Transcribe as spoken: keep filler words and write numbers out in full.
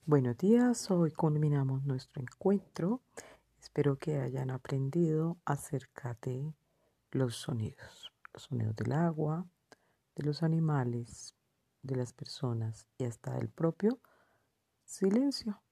Buenos días, hoy culminamos nuestro encuentro. Espero que hayan aprendido acerca de los sonidos, los sonidos del agua, de los animales, de las personas y hasta del propio silencio.